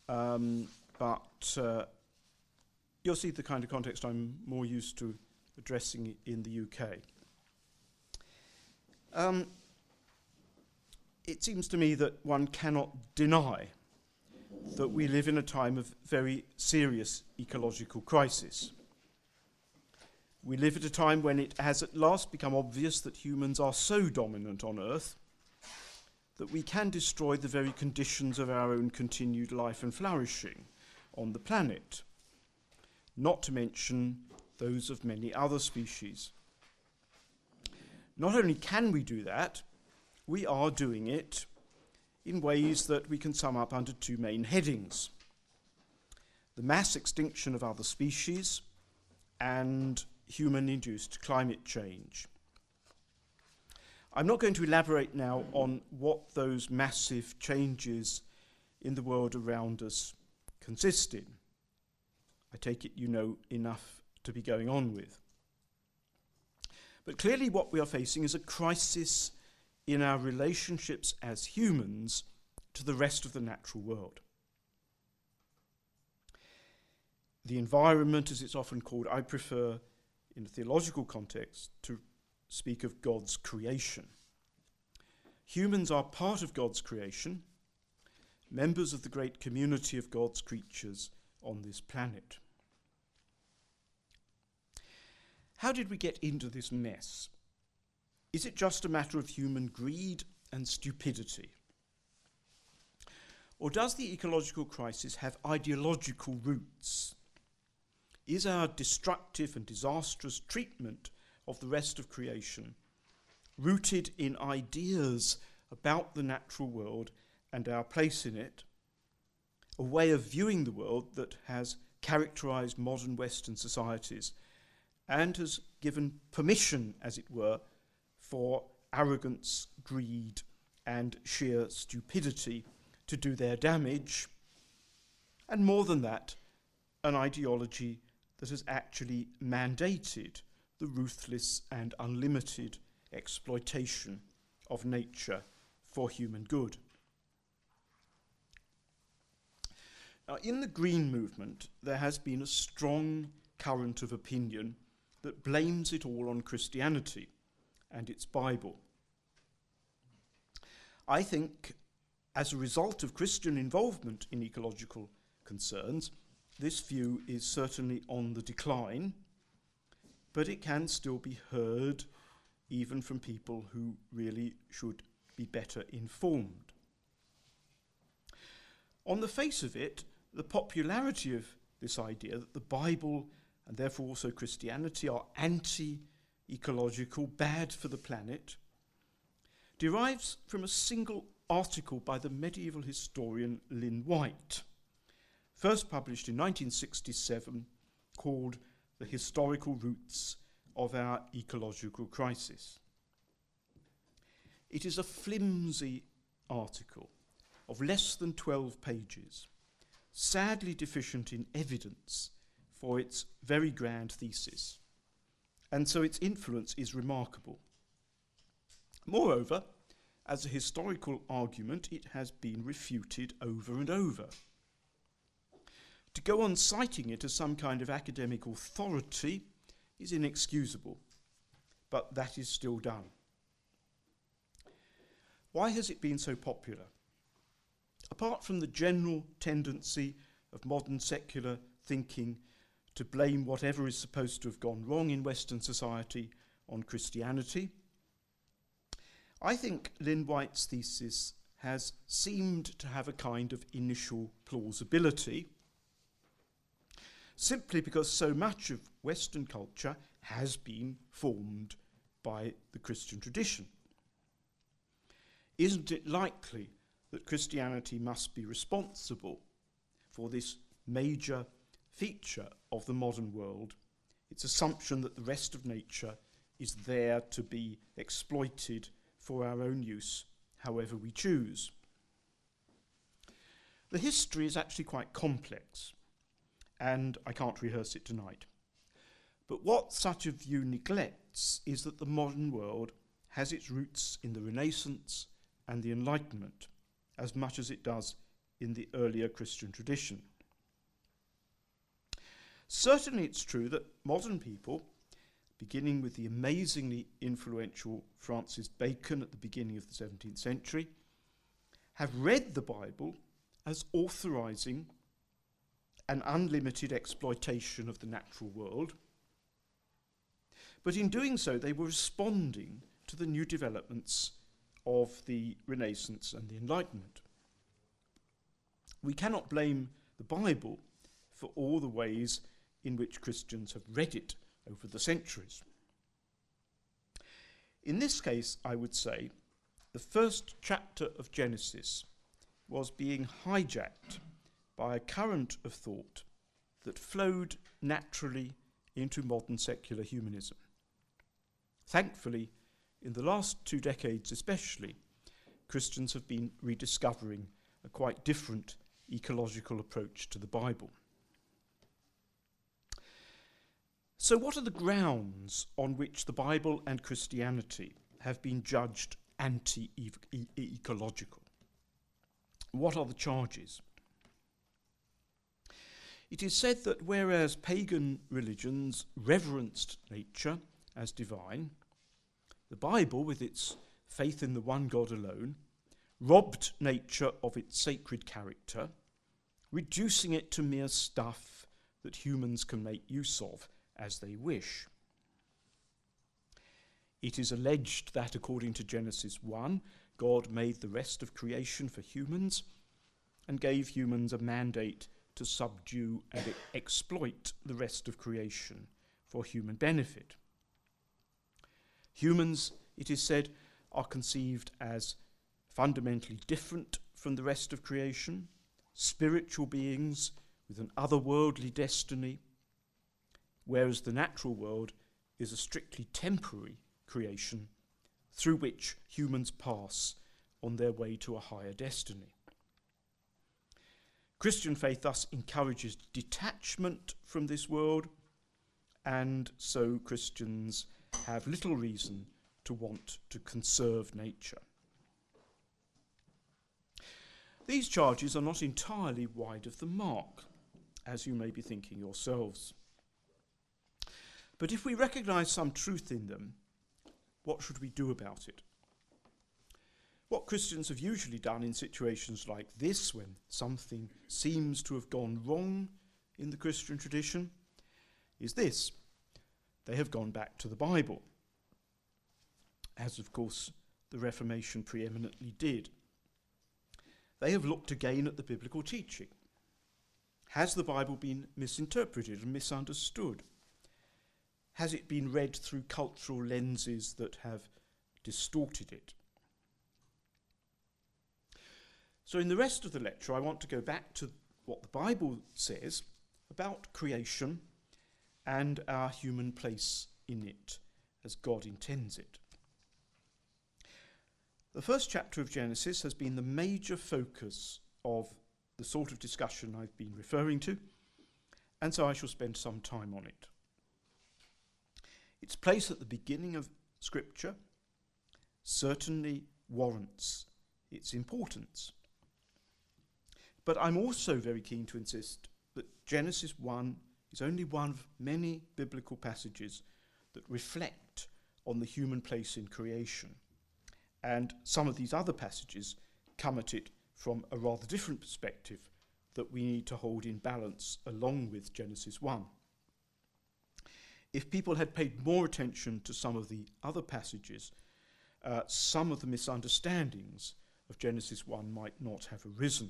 but you'll see the kind of context I'm more used to addressing in the UK. It seems to me that one cannot deny that we live in a time of very serious ecological crisis. We live at a time when it has at last become obvious that humans are so dominant on Earth that we can destroy the very conditions of our own continued life and flourishing on the planet, not to mention those of many other species. Not only can we do that, we are doing it in ways that we can sum up under two main headings: the mass extinction of other species and human-induced climate change. I'm not going to elaborate now on what those massive changes in the world around us consist in. I take it you know enough to be going on with. But clearly what we are facing is a crisis in our relationships as humans to the rest of the natural world. The environment, as it's often called, I prefer in a theological context to speak of God's creation. Humans are part of God's creation, members of the great community of God's creatures on this planet. How did we get into this mess? Is it just a matter of human greed and stupidity? Or does the ecological crisis have ideological roots? Is our destructive and disastrous treatment of the rest of creation rooted in ideas about the natural world and our place in it, a way of viewing the world that has characterized modern Western societies and has given permission, as it were, for arrogance, greed, and sheer stupidity to do their damage, and more than that, an ideology that has actually mandated the ruthless and unlimited exploitation of nature for human good. Now, in the Green movement, there has been a strong current of opinion that blames it all on Christianity and its Bible. I think, as a result of Christian involvement in ecological concerns, this view is certainly on the decline, but it can still be heard even from people who really should be better informed. On the face of it, the popularity of this idea that the Bible and therefore also Christianity are anti-ecological, bad for the planet, derives from a single article by the medieval historian Lynn White, first published in 1967, called The Historical Roots of Our Ecological Crisis. It is a flimsy article of less than 12 pages, sadly deficient in evidence for its very grand thesis, and so its influence is remarkable. Moreover, as a historical argument, it has been refuted over and over. To go on citing it as some kind of academic authority is inexcusable, but that is still done. Why has it been so popular? Apart from the general tendency of modern secular thinking to blame whatever is supposed to have gone wrong in Western society on Christianity, I think Lynn White's thesis has seemed to have a kind of initial plausibility, simply because so much of Western culture has been formed by the Christian tradition. Isn't it likely that Christianity must be responsible for this major feature of the modern world, its assumption that the rest of nature is there to be exploited for our own use, however we choose? The history is actually quite complex, and I can't rehearse it tonight. But what such a view neglects is that the modern world has its roots in the Renaissance and the Enlightenment, as much as it does in the earlier Christian tradition. Certainly it's true that modern people, beginning with the amazingly influential Francis Bacon at the beginning of the 17th century, have read the Bible as authorizing an unlimited exploitation of the natural world. But in doing so, they were responding to the new developments of the Renaissance and the Enlightenment. We cannot blame the Bible for all the ways in which Christians have read it over the centuries. In this case, I would say, the first chapter of Genesis was being hijacked by a current of thought that flowed naturally into modern secular humanism. Thankfully, in the last 2 decades especially, Christians have been rediscovering a quite different ecological approach to the Bible. So what are the grounds on which the Bible and Christianity have been judged anti-ecological? What are the charges? It is said that whereas pagan religions reverenced nature as divine, the Bible, with its faith in the one God alone, robbed nature of its sacred character, reducing it to mere stuff that humans can make use of as they wish. It is alleged that, according to Genesis 1, God made the rest of creation for humans and gave humans a mandate to subdue and exploit the rest of creation for human benefit. Humans, it is said, are conceived as fundamentally different from the rest of creation, spiritual beings with an otherworldly destiny, whereas the natural world is a strictly temporary creation through which humans pass on their way to a higher destiny. Christian faith thus encourages detachment from this world, and so Christians have little reason to want to conserve nature. These charges are not entirely wide of the mark, as you may be thinking yourselves. But if we recognise some truth in them, what should we do about it? What Christians have usually done in situations like this, when something seems to have gone wrong in the Christian tradition, is this: they have gone back to the Bible, as of course the Reformation preeminently did. They have looked again at the biblical teaching. Has the Bible been misinterpreted and misunderstood? Has it been read through cultural lenses that have distorted it? So in the rest of the lecture, I want to go back to what the Bible says about creation and our human place in it as God intends it. The first chapter of Genesis has been the major focus of the sort of discussion I've been referring to, and so I shall spend some time on it. Its place at the beginning of Scripture certainly warrants its importance. But I'm also very keen to insist that Genesis 1 is only one of many biblical passages that reflect on the human place in creation. And some of these other passages come at it from a rather different perspective that we need to hold in balance along with Genesis 1. If people had paid more attention to some of the other passages, some of the misunderstandings of Genesis 1 might not have arisen.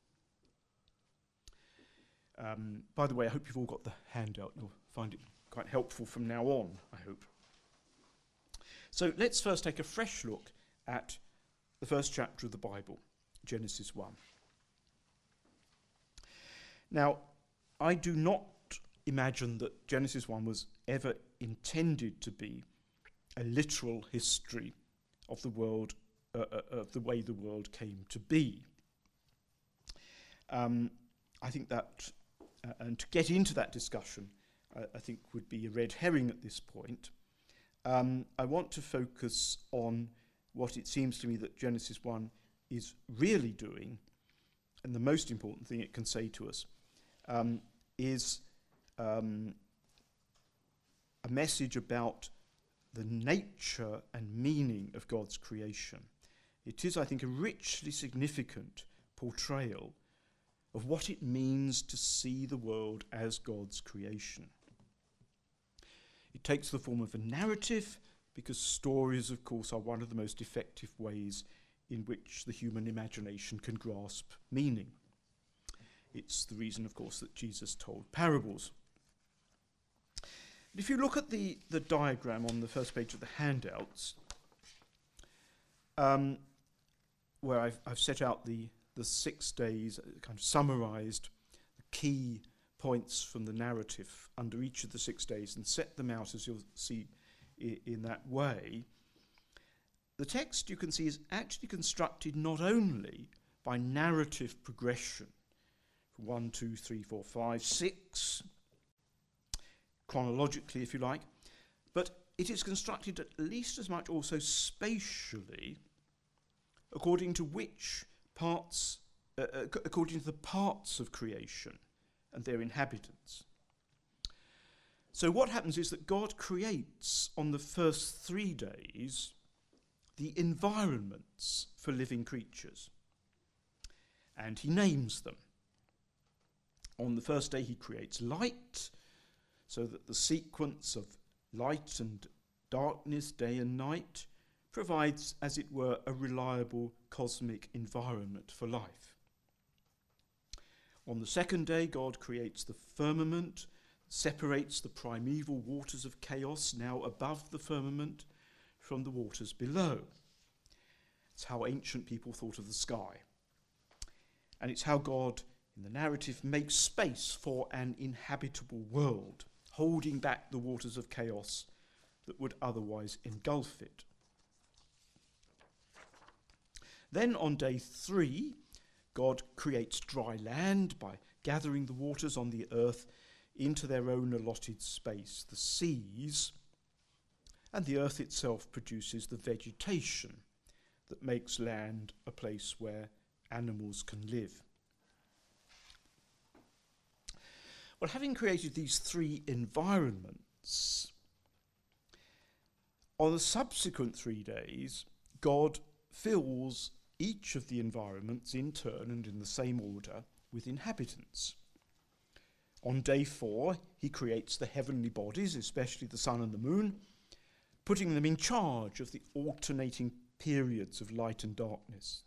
By the way, I hope you've all got the handout. You'll find it quite helpful from now on, I hope. So let's first take a fresh look at the first chapter of the Bible, Genesis 1. Now, I do not imagine that Genesis 1 was ever intended to be a literal history of the world, of the way the world came to be. I think that, and to get into that discussion, I think would be a red herring at this point. I want to focus on what it seems to me that Genesis 1 is really doing, and the most important thing it can say to us, is a message about the nature and meaning of God's creation. It is, I think, a richly significant portrayal of what it means to see the world as God's creation. It takes the form of a narrative, because stories, of course, are one of the most effective ways in which the human imagination can grasp meaning. It's the reason, of course, that Jesus told parables. If you look at the diagram on the first page of the handouts, where I've set out the 6 days, kind of summarised the key points from the narrative under each of the 6 days and set them out, as you'll see, in that way. The text, you can see, is actually constructed not only by narrative progression, 1, 2, 3, 4, 5, 6, chronologically, if you like, but it is constructed at least as much also spatially, according to which parts, according to the parts of creation and their inhabitants. So what happens is that God creates on the first 3 days the environments for living creatures, and he names them. On the first day he creates light, so that the sequence of light and darkness, day and night, provides, as it were, a reliable cosmic environment for life. On the second day, God creates the firmament, separates the primeval waters of chaos now above the firmament from the waters below. It's how ancient people thought of the sky. And it's how God, in the narrative, makes space for an inhabitable world, holding back the waters of chaos that would otherwise engulf it. Then on day 3, God creates dry land by gathering the waters on the earth into their own allotted space, the seas, and the earth itself produces the vegetation that makes land a place where animals can live. Well, having created these 3 environments, on the subsequent 3 days, God fills each of the environments in turn and in the same order with inhabitants. On day 4, he creates the heavenly bodies, especially the sun and the moon, putting them in charge of the alternating periods of light and darkness.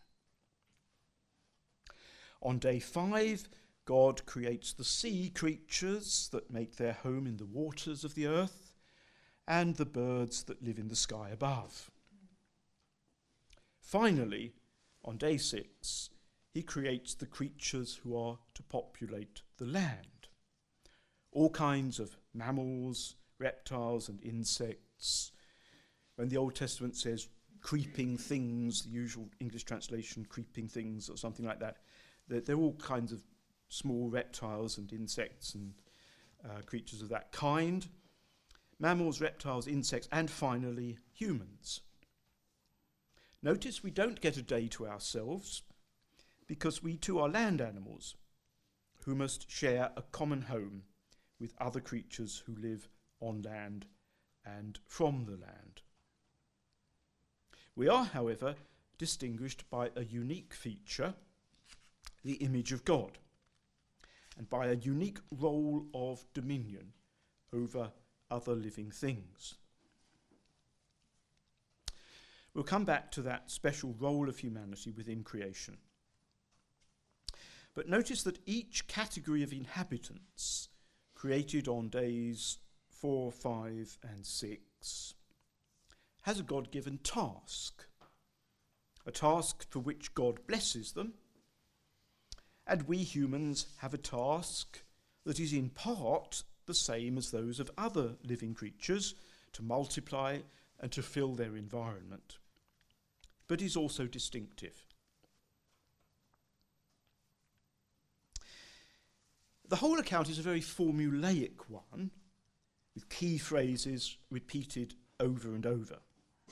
On day 5, God creates the sea creatures that make their home in the waters of the earth, and the birds that live in the sky above. Finally, on day 6, he creates the creatures who are to populate the land. All kinds of mammals, reptiles and insects. When the Old Testament says creeping things, the usual English translation, creeping things or something like that, they're all kinds of small reptiles and insects and creatures of that kind. Mammals, reptiles, insects, and finally humans. Notice we don't get a day to ourselves, because we too are land animals who must share a common home with other creatures who live on land and from the land. We are, however, distinguished by a unique feature, the image of God, and by a unique role of dominion over other living things. We'll come back to that special role of humanity within creation. But notice that each category of inhabitants created on days 4, 5, and 6 has a God-given task, a task for which God blesses them, and we humans have a task that is in part the same as those of other living creatures, to multiply and to fill their environment, but is also distinctive. The whole account is a very formulaic one, with key phrases repeated over and over.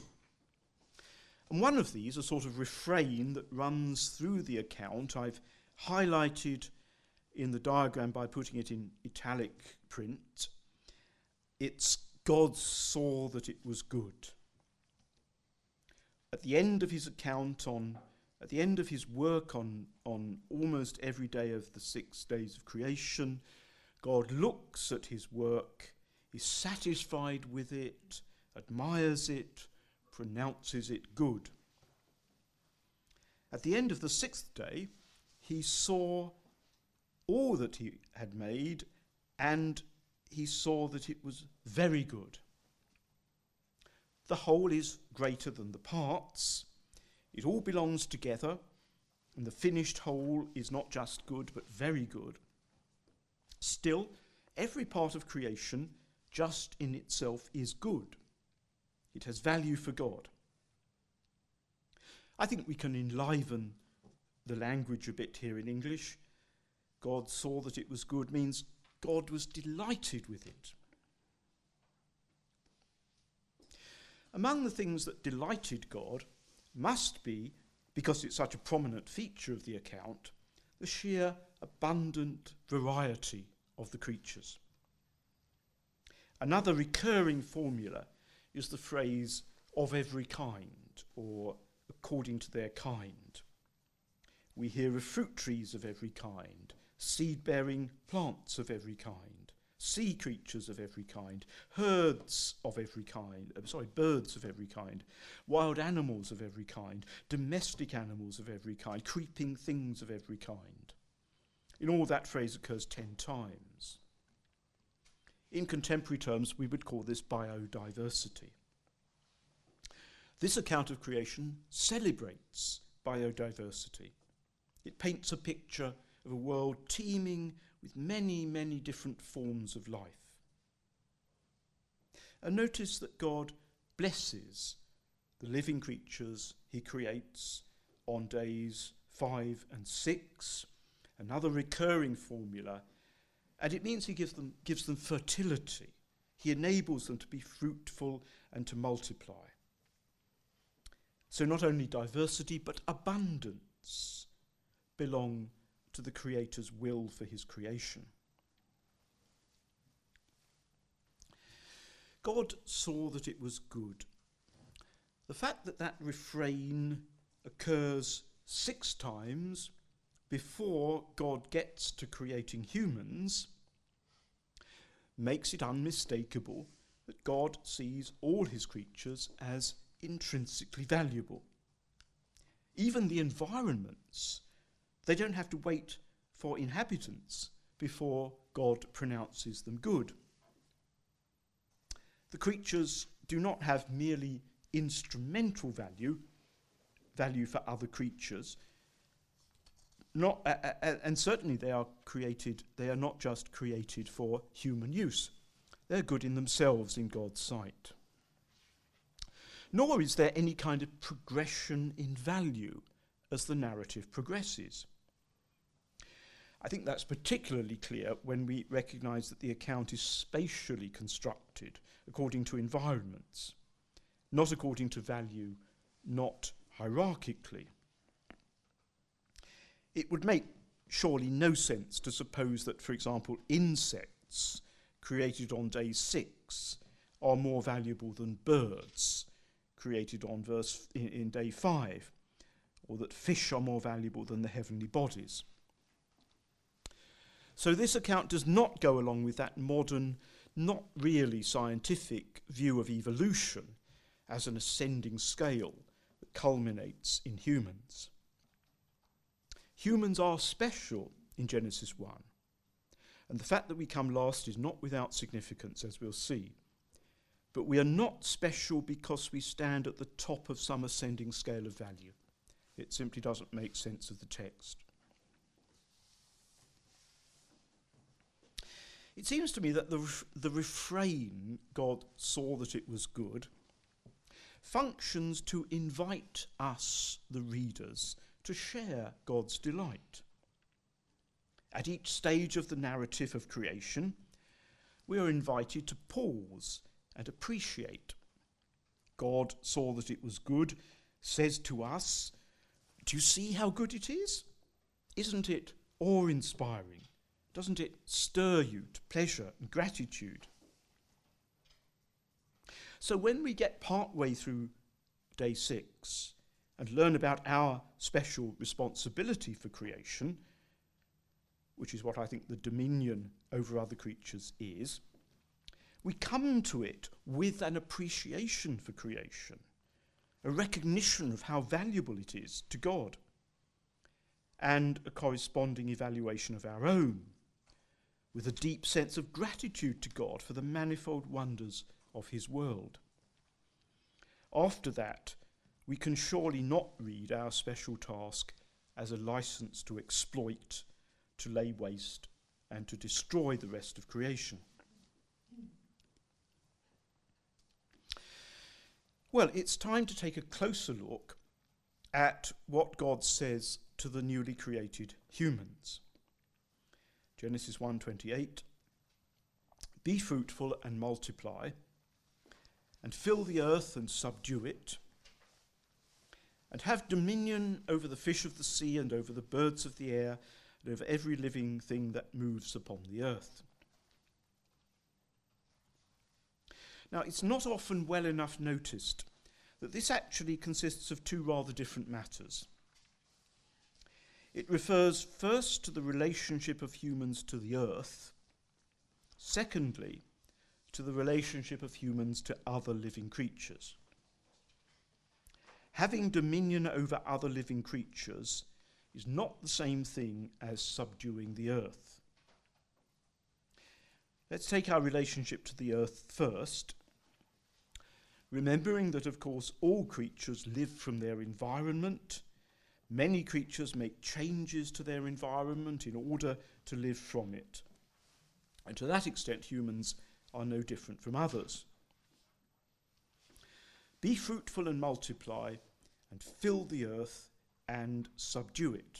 And one of these, a sort of refrain that runs through the account, I've highlighted in the diagram by putting it in italic print. It's God saw that it was good. At the end of his at the end of his work on almost every day of the 6 days of creation, God looks at his work, is satisfied with it, admires it, pronounces it good. At the end of the 6th day, he saw all that he had made, and he saw that it was very good. The whole is greater than the parts. It all belongs together, and the finished whole is not just good, but very good. Still, every part of creation, just in itself, is good. It has value for God. I think we can enliven the language a bit here in English. God saw that it was good means God was delighted with it. Among the things that delighted God must be, because it's such a prominent feature of the account, the sheer abundant variety of the creatures. Another recurring formula is the phrase "of every kind" or "according to their kind." We hear of fruit trees of every kind, seed-bearing plants of every kind, sea creatures of every kind, birds of every kind, wild animals of every kind, domestic animals of every kind, creeping things of every kind. In all, that phrase occurs 10 times. In contemporary terms, we would call this biodiversity. This account of creation celebrates biodiversity. It paints a picture of a world teeming with many, many different forms of life. And notice that God blesses the living creatures he creates on days 5 and 6, another recurring formula, and it means he gives them fertility. He enables them to be fruitful and to multiply. So not only diversity, but abundance belong to the Creator's will for his creation. God saw that it was good. The fact that that refrain occurs 6 times before God gets to creating humans makes it unmistakable that God sees all his creatures as intrinsically valuable. Even the environments, they don't have to wait for inhabitants before God pronounces them good. The creatures do not have merely instrumental value for other creatures, and certainly they are not just created for human use. They're good in themselves in God's sight. Nor is there any kind of progression in value as the narrative progresses. I think that's particularly clear when we recognise that the account is spatially constructed according to environments, not according to value, not hierarchically. It would make surely no sense to suppose that, for example, insects created on day 6 are more valuable than birds created in day 5, or that fish are more valuable than the heavenly bodies. So this account does not go along with that modern, not really scientific view of evolution as an ascending scale that culminates in humans. Humans are special in Genesis 1, and the fact that we come last is not without significance, as we'll see. But we are not special because we stand at the top of some ascending scale of value. It simply doesn't make sense of the text. It seems to me that the refrain, God saw that it was good, functions to invite us, the readers, to share God's delight. At each stage of the narrative of creation, we are invited to pause and appreciate. God saw that it was good, says to us, do you see how good it is? isn't it awe-inspiring? Doesn't it stir you to pleasure and gratitude? So when we get partway through day 6 and learn about our special responsibility for creation, which is what I think the dominion over other creatures is, we come to it with an appreciation for creation, a recognition of how valuable it is to God, and a corresponding evaluation of our own, with a deep sense of gratitude to God for the manifold wonders of his world. After that, we can surely not read our special task as a license to exploit, to lay waste, and to destroy the rest of creation. Well, it's time to take a closer look at what God says to the newly created humans. Genesis 1:28, "Be fruitful and multiply, and fill the earth and subdue it, and have dominion over the fish of the sea and over the birds of the air and over every living thing that moves upon the earth." Now, it's not often well enough noticed that this actually consists of two rather different matters. It refers first to the relationship of humans to the earth, secondly, to the relationship of humans to other living creatures. Having dominion over other living creatures is not the same thing as subduing the earth. Let's take our relationship to the earth first, remembering that, of course, all creatures live from their environment. Many creatures make changes to their environment in order to live from it. And to that extent, humans are no different from others. Be fruitful and multiply, and fill the earth and subdue it.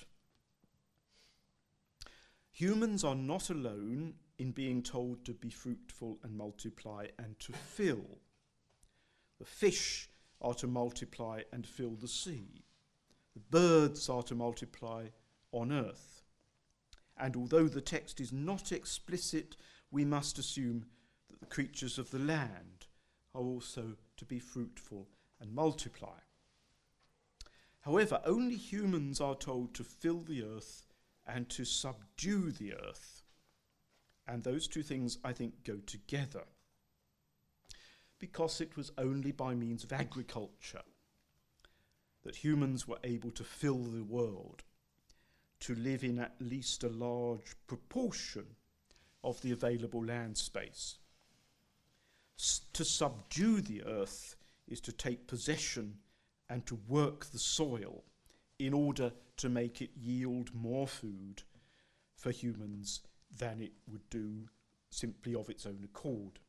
Humans are not alone in being told to be fruitful and multiply and to fill. The fish are to multiply and fill the sea. The birds are to multiply on earth. And although the text is not explicit, we must assume that the creatures of the land are also to be fruitful and multiply. However, only humans are told to fill the earth and to subdue the earth. And those two things, I think, go together, because it was only by means of agriculture that humans were able to fill the world, to live in at least a large proportion of the available land space. To subdue the earth is to take possession and to work the soil in order to make it yield more food for humans than it would do simply of its own accord.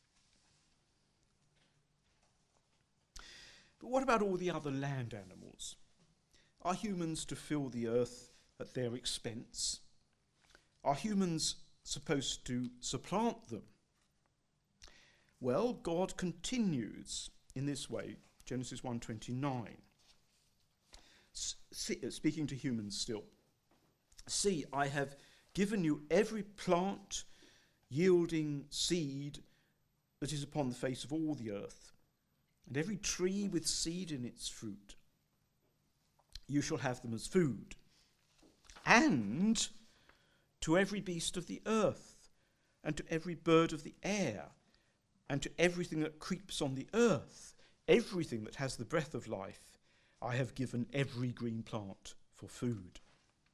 But what about all the other land animals? Are humans to fill the earth at their expense? Are humans supposed to supplant them? Well, God continues in this way, Genesis 1:29, speaking to humans still. "See, I have given you every plant yielding seed that is upon the face of all the earth, and every tree with seed in its fruit. You shall have them as food. And to every beast of the earth, and to every bird of the air, and to everything that creeps on the earth, everything that has the breath of life, I have given every green plant for food."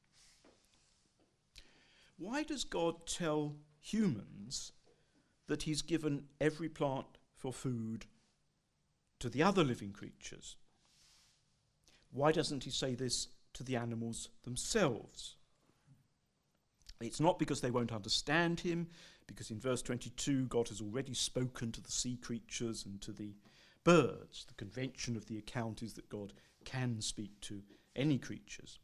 Why does God tell humans that he's given every plant for food to the other living creatures? Why doesn't he say this to the animals themselves? It's not because they won't understand him, because in verse 22 God has already spoken to the sea creatures and to the birds. The convention of the account is that God can speak to any creatures.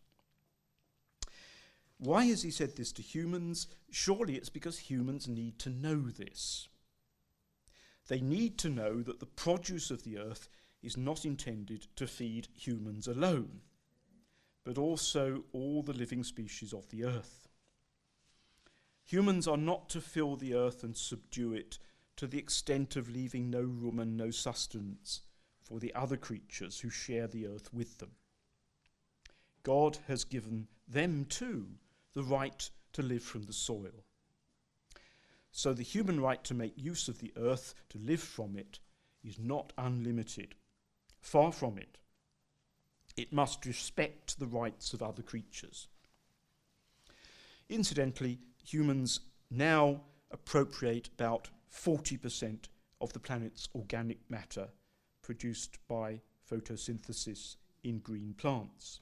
Why has he said this to humans? Surely it's because humans need to know this. They need to know that the produce of the earth is not intended to feed humans alone. but also all the living species of the earth. Humans are not to fill the earth and subdue it to the extent of leaving no room and no sustenance for the other creatures who share the earth with them. God has given them too the right to live from the soil. So the human right to make use of the earth, to live from it, is not unlimited. Far from it. It must respect the rights of other creatures. Incidentally, humans now appropriate about 40% of the planet's organic matter produced by photosynthesis in green plants.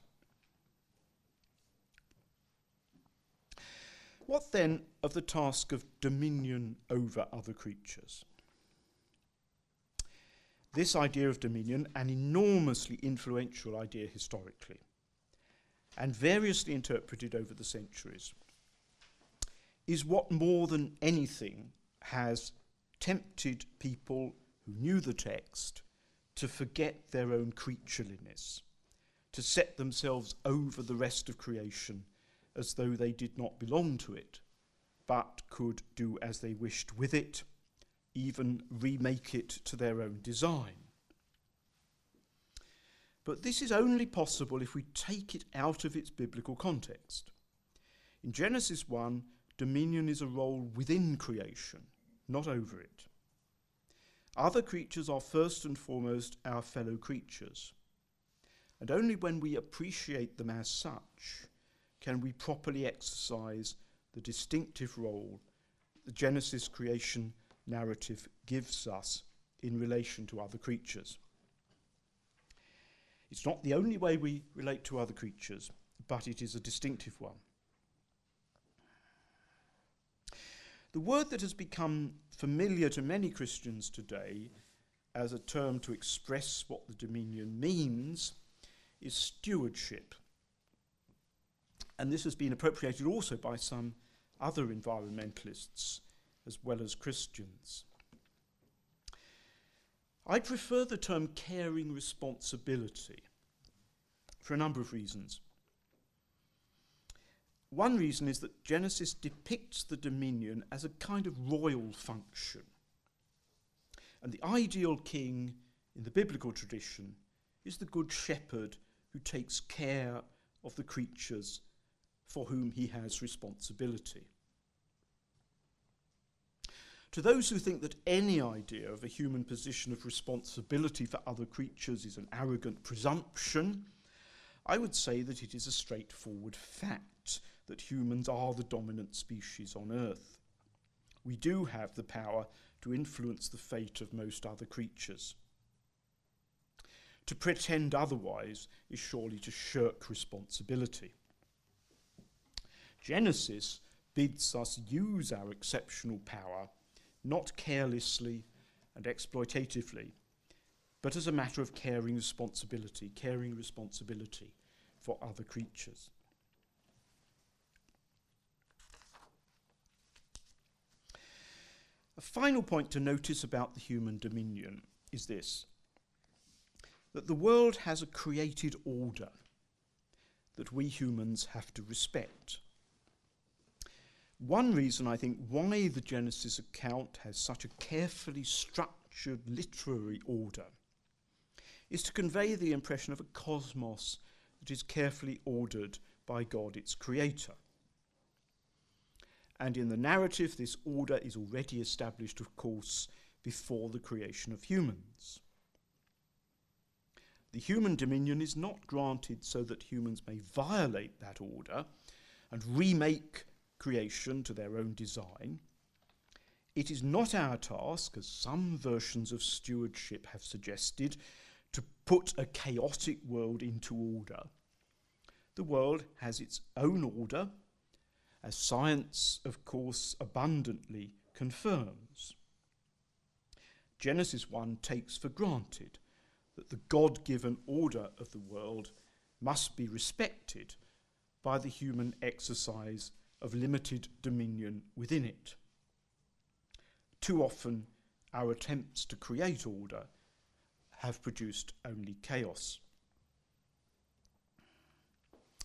What then of the task of dominion over other creatures? This idea of dominion, an enormously influential idea historically, and variously interpreted over the centuries, is what more than anything has tempted people who knew the text to forget their own creatureliness, to set themselves over the rest of creation as though they did not belong to it, but could do as they wished with it, even remake it to their own design. But this is only possible if we take it out of its biblical context. In Genesis 1, dominion is a role within creation, not over it. Other creatures are first and foremost our fellow creatures, and only when we appreciate them as such can we properly exercise the distinctive role the Genesis creation narrative gives us in relation to other creatures. It's not the only way we relate to other creatures, but it is a distinctive one. The word that has become familiar to many Christians today as a term to express what the dominion means is stewardship. And this has been appropriated also by some other environmentalists as well as Christians. I prefer the term caring responsibility for a number of reasons. One reason is that Genesis depicts the dominion as a kind of royal function. And the ideal king in the biblical tradition is the good shepherd who takes care of the creatures for whom he has responsibility. To those who think that any idea of a human position of responsibility for other creatures is an arrogant presumption, I would say that it is a straightforward fact that humans are the dominant species on Earth. We do have the power to influence the fate of most other creatures. To pretend otherwise is surely to shirk responsibility. Genesis bids us use our exceptional power not carelessly and exploitatively, but as a matter of caring responsibility for other creatures. A final point to notice about the human dominion is this, that the world has a created order that we humans have to respect. One reason, I think, why the Genesis account has such a carefully structured literary order is to convey the impression of a cosmos that is carefully ordered by God, its creator. And in the narrative, this order is already established, of course, before the creation of humans. The human dominion is not granted so that humans may violate that order and remake creation to their own design. It is not our task, as some versions of stewardship have suggested, to put a chaotic world into order. The world has its own order, as science, of course, abundantly confirms. Genesis 1 takes for granted that the God-given order of the world must be respected by the human exercise of limited dominion within it. Too often, our attempts to create order have produced only chaos.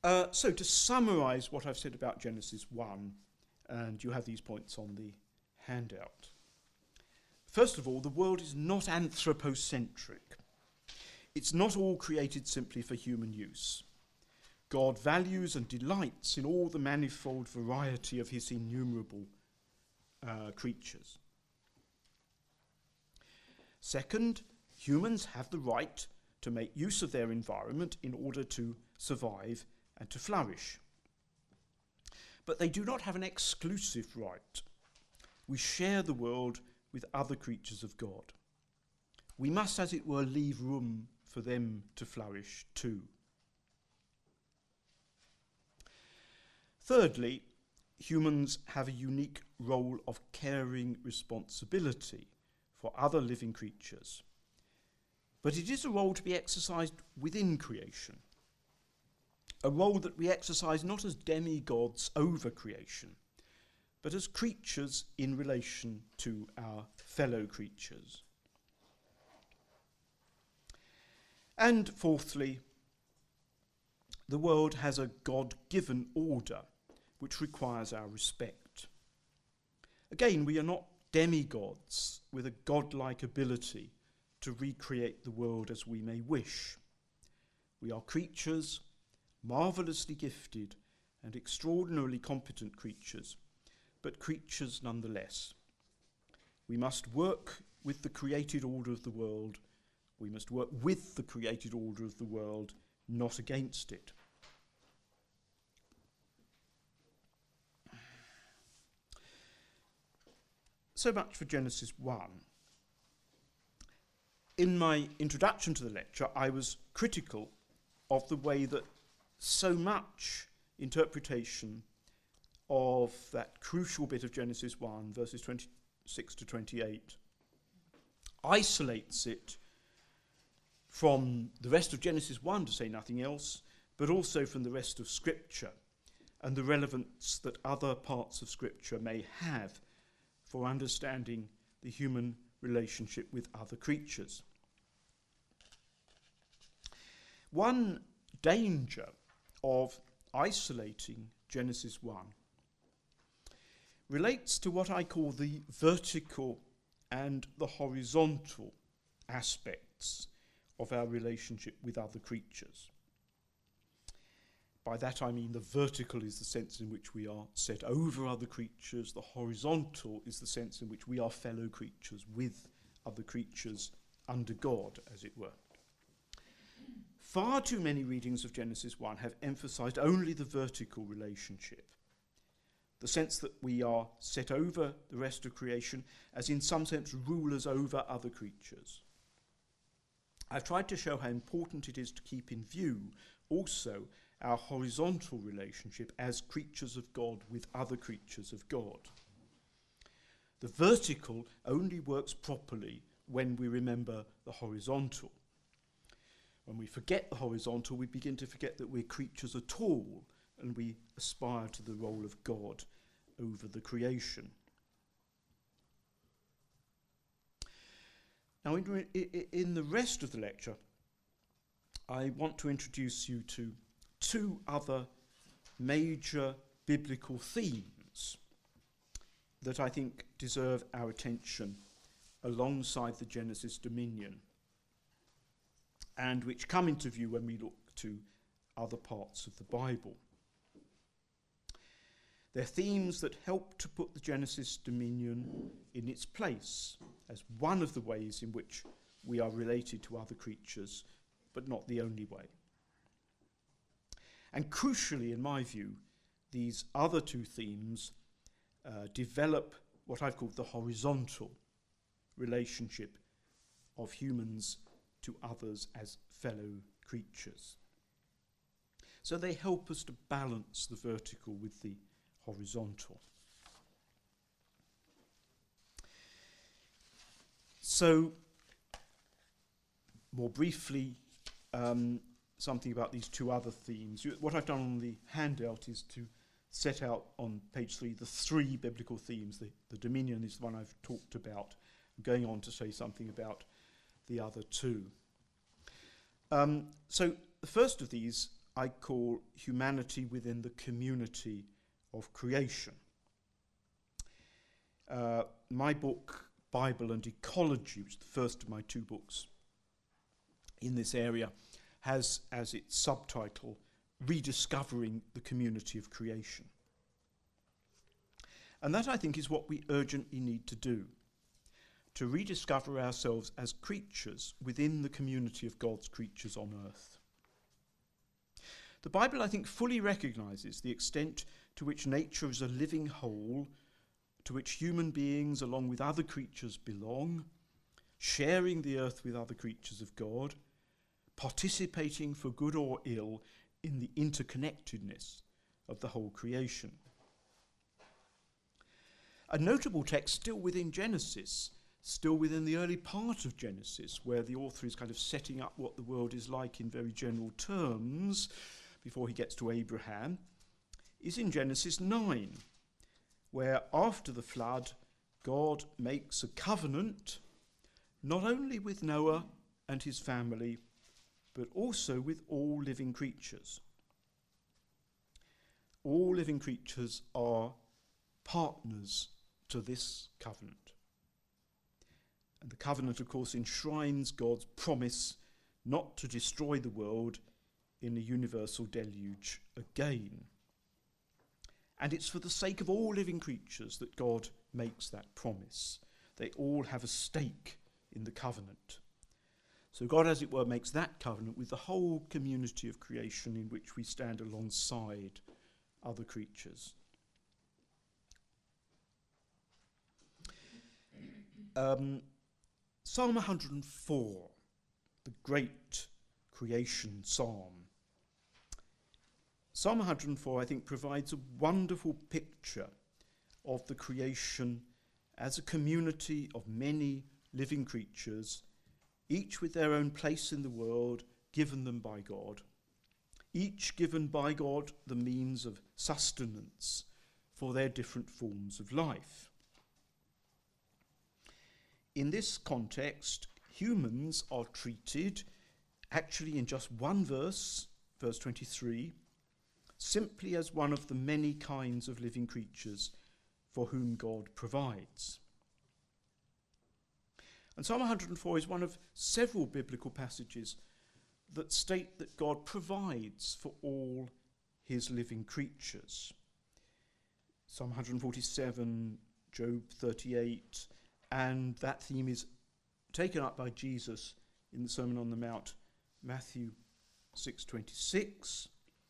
So to summarise what I've said about Genesis 1, and you have these points on the handout. First of all, the world is not anthropocentric. It's not all created simply for human use. God values and delights in all the manifold variety of his innumerable creatures. Second, humans have the right to make use of their environment in order to survive and to flourish. But they do not have an exclusive right. We share the world with other creatures of God. We must, as it were, leave room for them to flourish too. Thirdly, humans have a unique role of caring responsibility for other living creatures. But it is a role to be exercised within creation, a role that we exercise not as demigods over creation, but as creatures in relation to our fellow creatures. And fourthly, the world has a God-given order which requires our respect. Again, we are not demigods with a godlike ability to recreate the world as we may wish. We are creatures, marvellously gifted and extraordinarily competent creatures, but creatures nonetheless. We must work with the created order of the world. We must work with the created order of the world, not against it. So much for Genesis 1. In my introduction to the lecture, I was critical of the way that so much interpretation of that crucial bit of Genesis 1, verses 26 to 28, isolates it from the rest of Genesis 1, to say nothing else, but also from the rest of Scripture and the relevance that other parts of Scripture may have for understanding the human relationship with other creatures. One danger of isolating Genesis 1 relates to what I call the vertical and the horizontal aspects of our relationship with other creatures. By that I mean the vertical is the sense in which we are set over other creatures, the horizontal is the sense in which we are fellow creatures with other creatures under God, as it were. Far too many readings of Genesis 1 have emphasized only the vertical relationship, the sense that we are set over the rest of creation, as in some sense rulers over other creatures. I've tried to show how important it is to keep in view also our horizontal relationship as creatures of God with other creatures of God. The vertical only works properly when we remember the horizontal. When we forget the horizontal, we begin to forget that we're creatures at all, and we aspire to the role of God over the creation. Now, in the rest of the lecture, I want to introduce you to two other major biblical themes that I think deserve our attention alongside the Genesis dominion, and which come into view when we look to other parts of the Bible. They're themes that help to put the Genesis dominion in its place as one of the ways in which we are related to other creatures, but not the only way. And crucially, in my view, these other two themes develop what I've called the horizontal relationship of humans to others as fellow creatures. So they help us to balance the vertical with the horizontal. So, more briefly, something about these two other themes. What I've done on the handout is to set out on page 3 the three biblical themes. The dominion is the one I've talked about. I'm going on to say something about the other two. So the first of these I call humanity within the community of creation. My book, Bible and Ecology, which is the first of my two books in this area, has as its subtitle, Rediscovering the Community of Creation. And that, I think, is what we urgently need to do, to rediscover ourselves as creatures within the community of God's creatures on earth. The Bible, I think, fully recognises the extent to which nature is a living whole, to which human beings, along with other creatures, belong, sharing the earth with other creatures of God, participating for good or ill in the interconnectedness of the whole creation. A notable text still within Genesis, still within the early part of Genesis, where the author is kind of setting up what the world is like in very general terms before he gets to Abraham, is in Genesis 9, where after the flood, God makes a covenant not only with Noah and his family, but also with all living creatures. All living creatures are partners to this covenant. And the covenant, of course, enshrines God's promise not to destroy the world in a universal deluge again. And it's for the sake of all living creatures that God makes that promise. They all have a stake in the covenant. So God, as it were, makes that covenant with the whole community of creation in which we stand alongside other creatures. Psalm 104, the great creation psalm. Psalm 104, I think, provides a wonderful picture of the creation as a community of many living creatures, each with their own place in the world, given them by God, each given by God the means of sustenance for their different forms of life. In this context, humans are treated, actually in just one verse, verse 23, simply as one of the many kinds of living creatures for whom God provides. And Psalm 104 is one of several biblical passages that state that God provides for all his living creatures. Psalm 147, Job 38, and that theme is taken up by Jesus in the Sermon on the Mount, Matthew 6:26.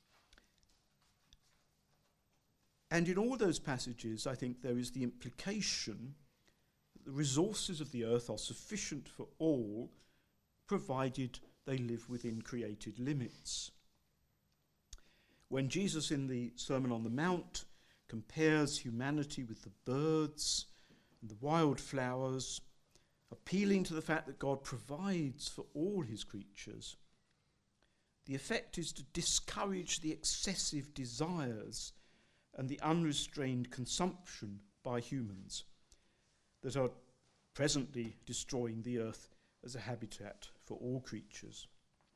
And in all those passages, I think there is the implication that the resources of the earth are sufficient for all, provided they live within created limits. When Jesus in the Sermon on the Mount compares humanity with the birds and the wildflowers, appealing to the fact that God provides for all his creatures, the effect is to discourage the excessive desires and the unrestrained consumption by humans that are presently destroying the earth as a habitat for all creatures.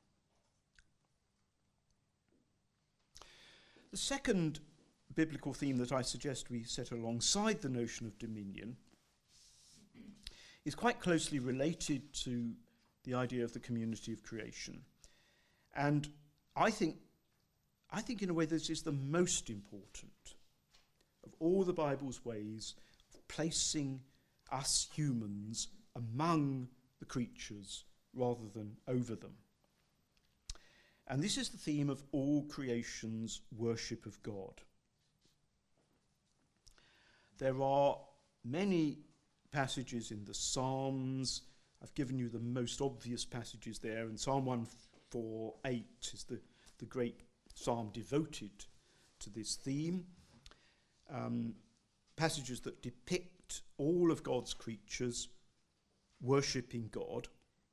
The second biblical theme that I suggest we set alongside the notion of dominion is quite closely related to the idea of the community of creation. And I think in a way this is the most important of all the Bible's ways of placing us humans among the creatures rather than over them. And this is the theme of all creation's worship of God. There are many passages in the Psalms. I've given you the most obvious passages there, and Psalm 148 is the great psalm devoted to this theme. Passages that depict all of God's creatures worshipping God.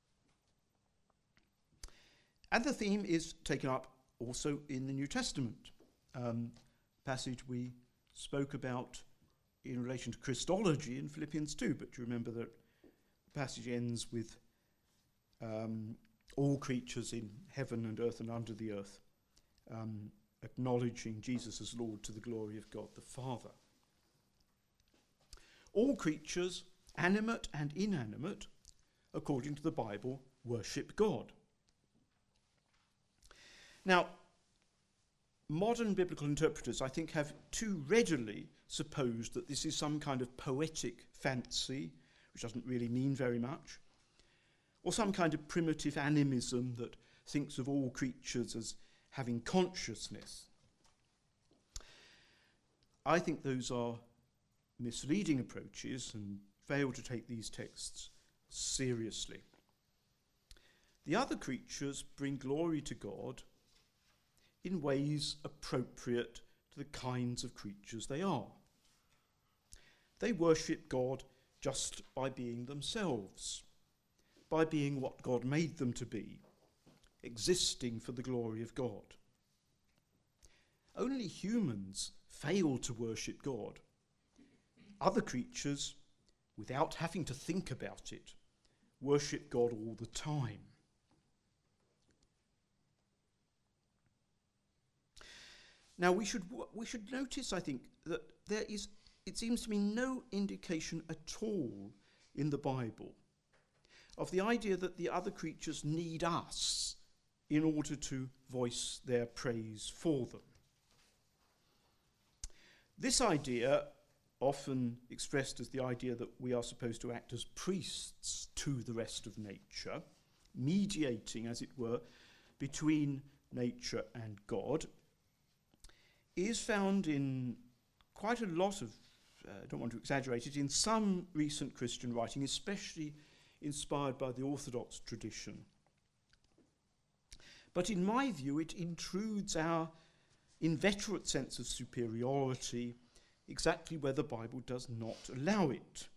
And the theme is taken up also in the New Testament. Passage we spoke about in relation to Christology in Philippians 2, but you remember that the passage ends with all creatures in heaven and earth and under the earth acknowledging Jesus as Lord to the glory of God the Father. All creatures, animate and inanimate, according to the Bible, worship God. Now, modern biblical interpreters, I think, have too readily supposed that this is some kind of poetic fancy, which doesn't really mean very much, or some kind of primitive animism that thinks of all creatures as having consciousness. I think those are misleading approaches and fail to take these texts seriously. The other creatures bring glory to God in ways appropriate to the kinds of creatures they are. They worship God just by being themselves, by being what God made them to be, existing for the glory of God. Only humans fail to worship God. Other creatures, without having to think about it, worship God all the time. Now we should notice, I think, that there is, it seems to me, no indication at all in the Bible of the idea that the other creatures need us in order to voice their praise for them. This idea, often expressed as the idea that we are supposed to act as priests to the rest of nature, mediating, as it were, between nature and God, is found in quite a lot of, I don't want to exaggerate it, in some recent Christian writing, especially inspired by the Orthodox tradition. But in my view, it intrudes our inveterate sense of superiority exactly where the Bible does not allow it.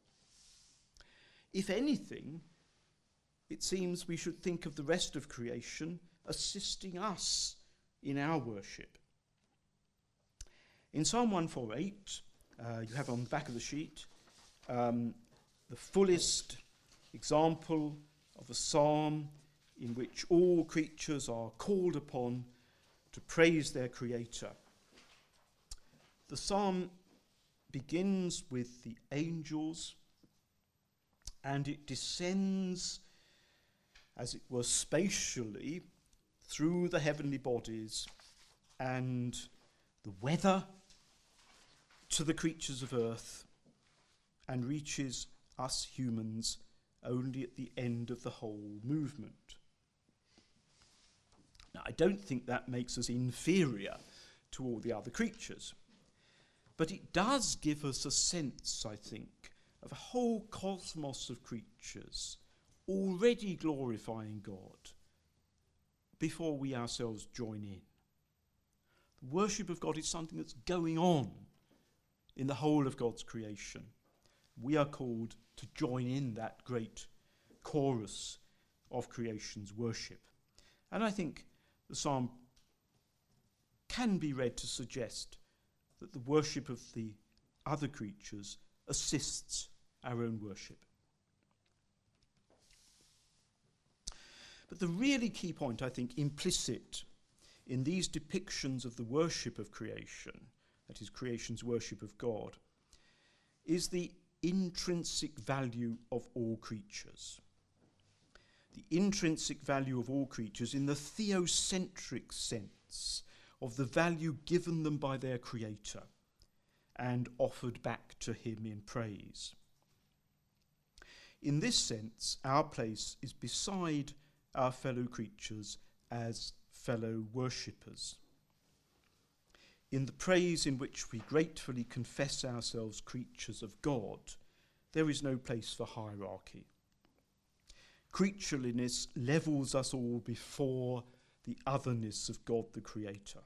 If anything, it seems we should think of the rest of creation assisting us in our worship. In Psalm 148, you have on the back of the sheet the fullest example of a psalm in which all creatures are called upon to praise their Creator. The psalm begins with the angels, and it descends, as it were, spatially through the heavenly bodies and the weather to the creatures of earth, and reaches us humans only at the end of the whole movement. Now, I don't think that makes us inferior to all the other creatures, but it does give us a sense, I think, of a whole cosmos of creatures already glorifying God before we ourselves join in. The worship of God is something that's going on in the whole of God's creation. We are called to join in that great chorus of creation's worship. And I think the psalm can be read to suggest that the worship of the other creatures assists our own worship. But the really key point, I think, implicit in these depictions of the worship of creation, that is, creation's worship of God, is the intrinsic value of all creatures. The intrinsic value of all creatures in the theocentric sense of the value given them by their Creator and offered back to him in praise. In this sense, our place is beside our fellow creatures as fellow worshippers. In the praise in which we gratefully confess ourselves creatures of God, there is no place for hierarchy. Creatureliness levels us all before the otherness of God the Creator.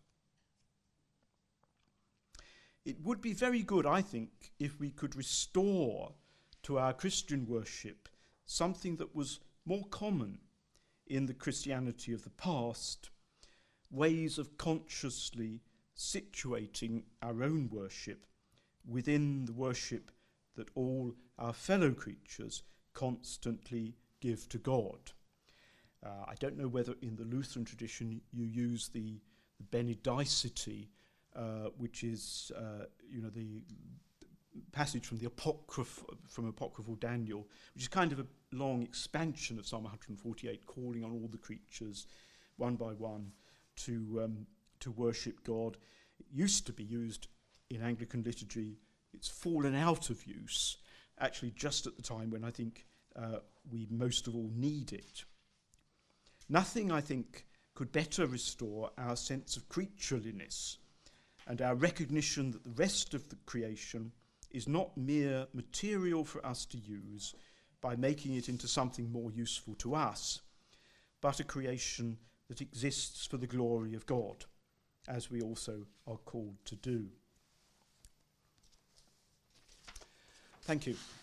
It would be very good, I think, if we could restore to our Christian worship something that was more common in the Christianity of the past, ways of consciously situating our own worship within the worship that all our fellow creatures constantly give to God. I don't know whether in the Lutheran tradition you use the Benedicite, which is, the passage from the apocryphal Daniel, which is kind of a long expansion of Psalm 148, calling on all the creatures one by one to worship God. It used to be used in Anglican liturgy. It's fallen out of use, actually just at the time when I think we most of all need it. Nothing, I think, could better restore our sense of creatureliness and our recognition that the rest of the creation is not mere material for us to use by making it into something more useful to us, but a creation that exists for the glory of God, as we also are called to do. Thank you.